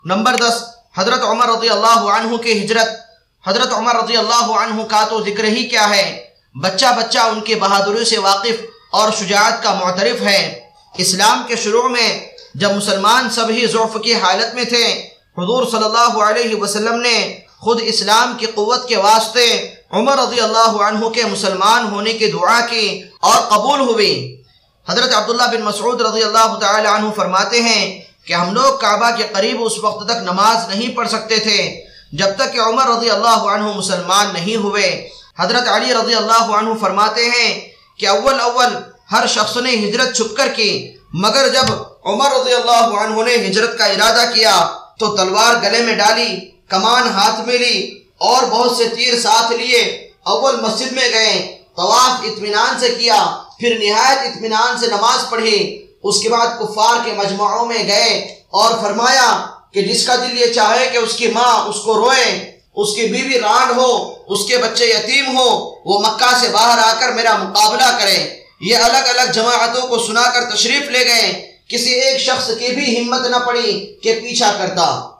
Number 10، حضرت عمر رضی اللہ عنہ کی ہجرت۔ حضرت عمر رضی اللہ عنہ کا تو ذکر ہی کیا ہے، بچہ بچہ ان کے بہادری سے واقف اور شجاعت کا معترف ہے۔ اسلام کے شروع میں جب مسلمان سب ہی ضعف کی حالت میں تھے، حضور صلی اللہ علیہ وسلم نے خود اسلام کی قوت کے واسطے عمر رضی اللہ عنہ کے مسلمان ہونے کی دعا کی اور قبول ہوئی۔ حضرت عبداللہ بن مسعود رضی اللہ تعالی عنہ فرماتے ہیں کہ ہم لوگ کعبہ کے قریب اس وقت تک نماز نہیں پڑھ سکتے تھے جب تک کہ عمر رضی اللہ عنہ مسلمان نہیں ہوئے۔ حضرت علی رضی اللہ عنہ فرماتے ہیں کہ اول ہر شخص نے ہجرت چھپ کر کی، مگر جب عمر رضی اللہ عنہ نے ہجرت کا ارادہ کیا تو تلوار گلے میں ڈالی، کمان ہاتھ میں لی اور بہت سے تیر ساتھ لیے اول مسجد میں گئے، طواف اطمینان سے کیا، پھر نہایت اطمینان سے نماز پڑھی۔ اس کے بعد کفار کے مجمعوں میں گئے اور فرمایا کہ جس کا دل یہ چاہے کہ اس کی ماں اس کو روئے، اس کی بیوی رانڈ ہو، اس کے بچے یتیم ہو، وہ مکہ سے باہر آ کر میرا مقابلہ کرے۔ یہ الگ الگ جماعتوں کو سنا کر تشریف لے گئے، کسی ایک شخص کی بھی ہمت نہ پڑی کہ پیچھا کرتا۔